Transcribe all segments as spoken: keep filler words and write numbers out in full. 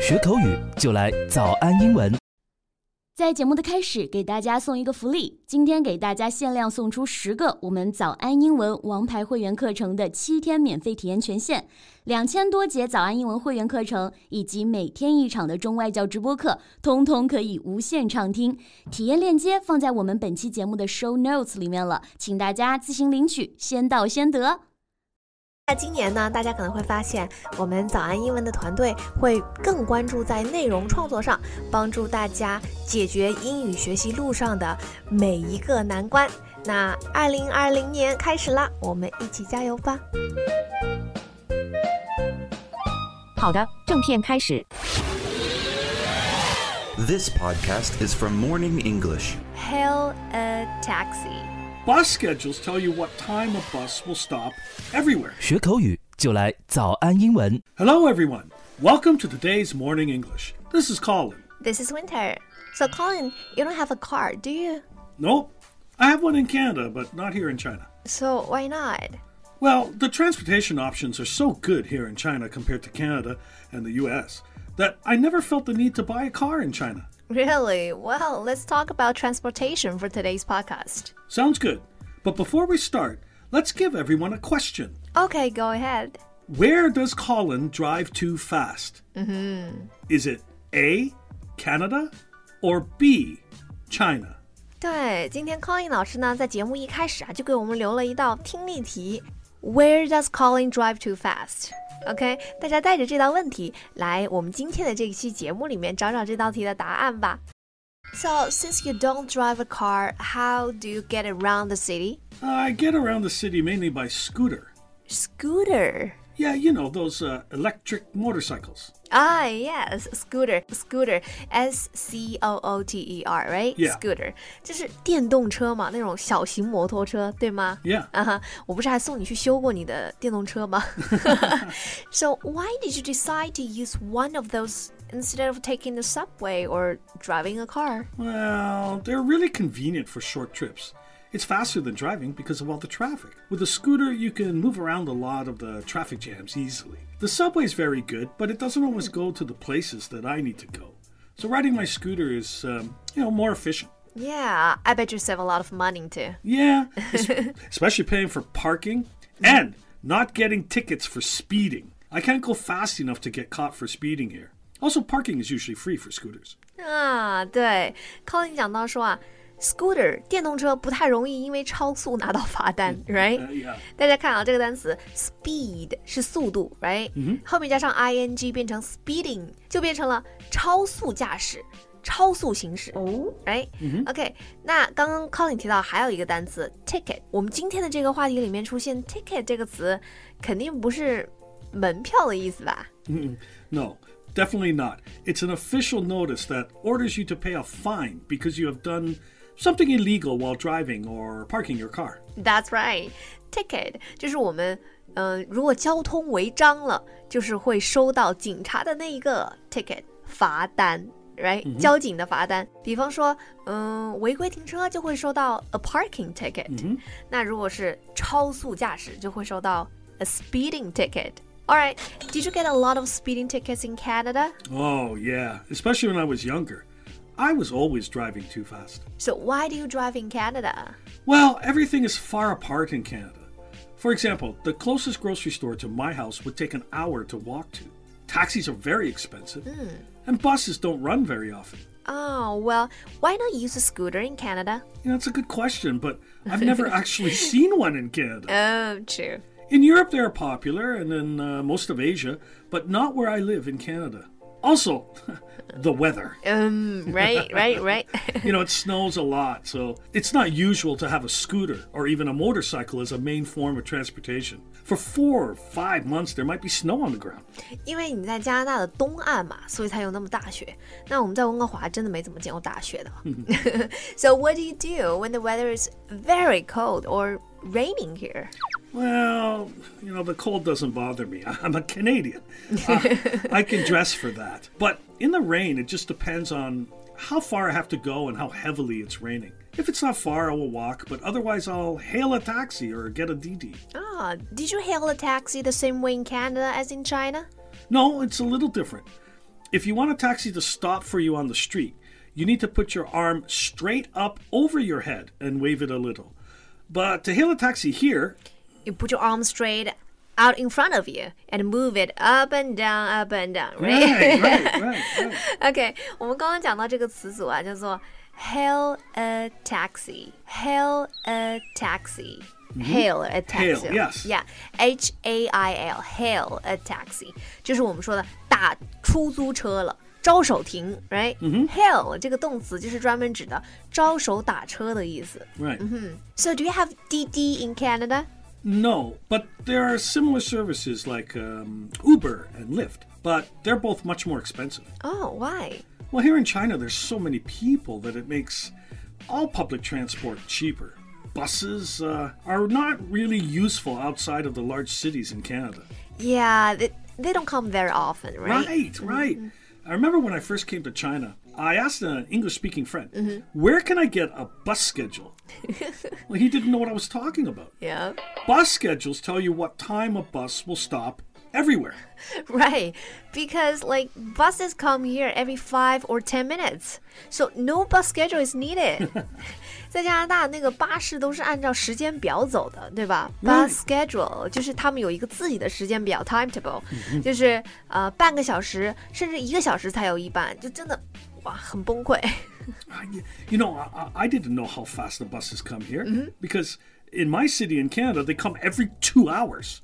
学口语就来早安英文。 在节目的开始，给大家送一个福利，今天给大家限量送出十个我们早安英文王牌会员课程的七天免费体验权限，两千多节早安英文会员课程以及每天一场的中外教直播课，通通可以无限畅听。体验链接放在我们本期节目的 show notes 里面了，请大家自行领取，先到先得。 那今年呢，大家可能会发现我们早安英文的团队会更关注在内容创作上，帮助大家解决英语学习路上的每一个难关。那二零二零年开始啦，我们一起加油吧。 好的，正片开始。 This podcast is from Morning English. Hail a taxi. Bus schedules tell you what time a bus will stop everywhere. 学口语就来早安英文。 Hello, everyone. Welcome to today's Morning English. This is Colin. This is Winter. So Colin, you don't have a car, do you? Nope. I have one in Canada, but not here in China. So why not? Well, the transportation options are so good here in China compared to Canada and the U S that I never felt the need to buy a car in China. Really? Well, let's talk about transportation for today's podcast. Sounds good. But before we start, let's give everyone a question. Okay, go ahead. Where does Colin drive too fast? Mm-hmm. Is it A, Canada, or B, China? 对，今天 Colin 老师呢，在节目一开始啊，就给我们留了一道听力题。Where does Colin drive too fast? OK， 大家带着这道问题来我们今天的这一期节目里面找找这道题的答案吧。So, since you don't drive a car, how do you get around the city? I get around the city mainly by scooter. Scooter? Yeah, you know, those uh, electric motorcycles. Ah, yes, scooter, scooter, S C O O T E R, right? Yeah. Scooter, 就是电动车嘛，那种小型摩托车，对吗？ Yeah. 啊哈，我不是还送你去修过你的电动车吗？ So why did you decide to use one of those instead of taking the subway or driving a car? Well, they're really convenient for short trips. It's faster than driving because of all the traffic. With a scooter, you can move around a lot of the traffic jams easily. The subway's very good, but it doesn't always go to the places that I need to go. So riding my scooter is, um, you know, more efficient. Yeah, I bet you save a lot of money too. Yeah, especially paying for parking and not getting tickets for speeding. I can't go fast enough to get caught for speeding here. Also, parking is usually free for scooters. 啊，对 Colin 讲到说啊Scooter 电动车不太容易因为超速拿到罚单 right? Uh, yeah. 大家看啊，这个单词 speed 是速度 right? 后面加上 ing 变成 speeding 就变成了超速驾驶超速行驶 right? OK, 那刚刚 Colin 提到还有一个单词 ticket 我们今天的这个话题里面出现 ticket 这个词肯定不是门票的意思吧？ No, definitely not. It's an official notice that orders you to pay a fine because you have done something illegal while driving or parking your car. That's right. Ticket 就是我们呃，如果交通违章了，就是会收到警察的那一个 ticket 罚单 right、嗯、交警的罚单。比方说嗯、呃，违规停车就会收到 a parking ticket、嗯、那如果是超速驾驶就会收到 a speeding ticket。 Alright, did you get a lot of speeding tickets in Canada? Oh yeah, especially when I was younger. I was always driving too fast. So why do you drive in Canada? Well, everything is far apart in Canada. For example, the closest grocery store to my house would take an hour to walk to. Taxis are very expensive, mm. and buses don't run very often. Oh, well, why not use a scooter in Canada? You know, that's a good question, but I've never actually seen one in Canada. Oh, true. In Europe, they're popular, and in uh, most of Asia, but not where I live in Canada. Also, the weather. Um, right, right, right. You know, it snows a lot, so it's not usual to have a scooter or even a motorcycle as a main form of transportation. For four or five months, there might be snow on the ground. 因为你在加拿大的东岸嘛，所以才有那么大雪。那我们在温哥华真的没怎么见过大雪的。So what do you do when the weather is very cold or raining here? Well, you know, the cold doesn't bother me. I'm a Canadian. Uh, I can dress for that. But in the rain, it just depends on how far I have to go and how heavily it's raining. If it's not far, I will walk, but otherwise I'll hail a taxi or get a D D. Ah, did you hail a taxi the same way in Canada as in China? No, it's a little different. if you want a taxi to stop for you on the street, you need to put your arm straight up over your head and wave it a little. But to hail a taxi here, you put your arm straight out in front of you and move it up and down, up and down, right? Right, right, right, right. OK, 我们刚刚讲到这个词组啊，叫做 hail a taxi, hail a taxi.Hail a taxi. Hail, yes. Yeah, H A I L, hail a taxi. 就是我们说的打出租车了，招手停 right? Hail 这个动词就是专门指的招手打车的意思。 Right. So do you have D D in Canada? No, but there are similar services like um, Uber and Lyft, but they're both much more expensive. Oh, why? Well, here in China, there's so many people that it makes all public transport cheaper.Buses uh, are not really useful outside of the large cities in Canada. Yeah, they, they don't come very often, right? Right, right. Mm-hmm. I remember when I first came to China, I asked an English-speaking friend, mm-hmm. where can I get a bus schedule? Well, he didn't know what I was talking about. Yeah. Bus schedules tell you what time a bus will stop everywhere. Right, because like buses come here every five or ten minutes, so no bus schedule is needed. 在加拿大那个巴士都是按照时间表走的，对吧？ Bus schedule 就是他们有一个自己的时间表 timetable， 就是呃半个小时甚至一个小时才有一班，就真的哇很崩溃。 You know, I, I didn't know how fast the buses come here mm-hmm. because in my city in Canada they come every two hours.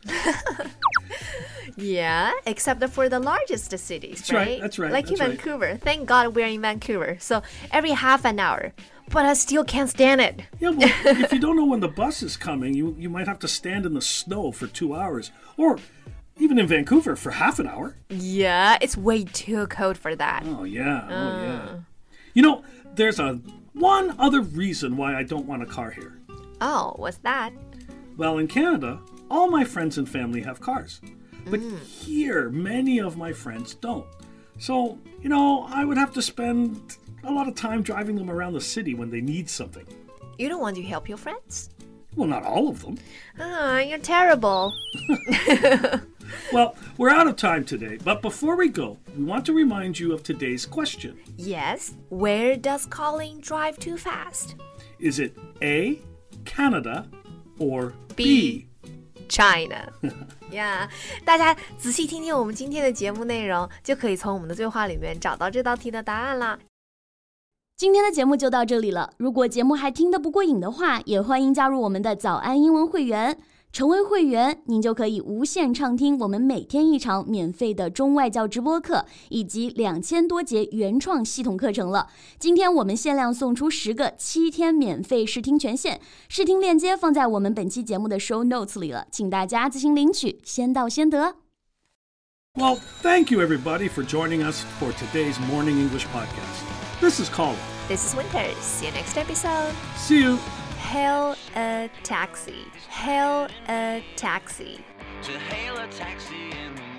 Yeah, except for the largest cities, that's right? right? That's right. Like that's in right. Vancouver. Thank God we're in Vancouver. So every half an hour. But I still can't stand it. Yeah, well, if you don't know when the bus is coming, you, you might have to stand in the snow for two hours. Or even in Vancouver for half an hour. Yeah, it's way too cold for that. Oh, yeah. Uh. Oh, yeah. You know, there's a one other reason why I don't want a car here. Oh, what's that? Well, in Canada, all my friends and family have cars. But mm. here, many of my friends don't. So, you know, I would have to spend a lot of time driving them around the city when they need something. You don't want to help your friends? Well, not all of them. Ah, you're terrible. Well, we're out of time today, but before we go, we want to remind you of today's question. Yes, where does Colin drive too fast? Is it A, Canada, or B, China? Yeah, 大家仔细听听我们今天的节目内容，就可以从我们的对话里面找到这道题的答案啦。 今天的节目就到这里了，如果节目还听得不过瘾的话，也欢迎加入我们的早安英文会员。成为会员，您就可以无限畅听我们每天一场免费的中外教直播课，以及两千多节原创系统课程了。今天我们限量送出十个七天免费试听权限，试听链接放在我们本期节目的 show notes 里了，请大家自行领取，先到先得。 Well, thank you everybody for joining us for today's Morning English podcast. This is Colin. This is Winter. See you next episode. See you. Hail a taxi. Hail a taxi. To hail a taxi in